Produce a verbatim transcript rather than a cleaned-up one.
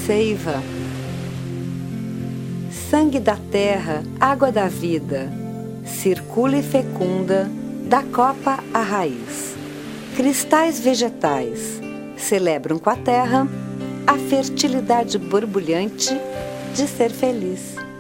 seiva. Sangue da terra, água da vida, circula e fecunda, da copa à raiz. Cristais vegetais celebram com a terra a fertilidade borbulhante de ser feliz.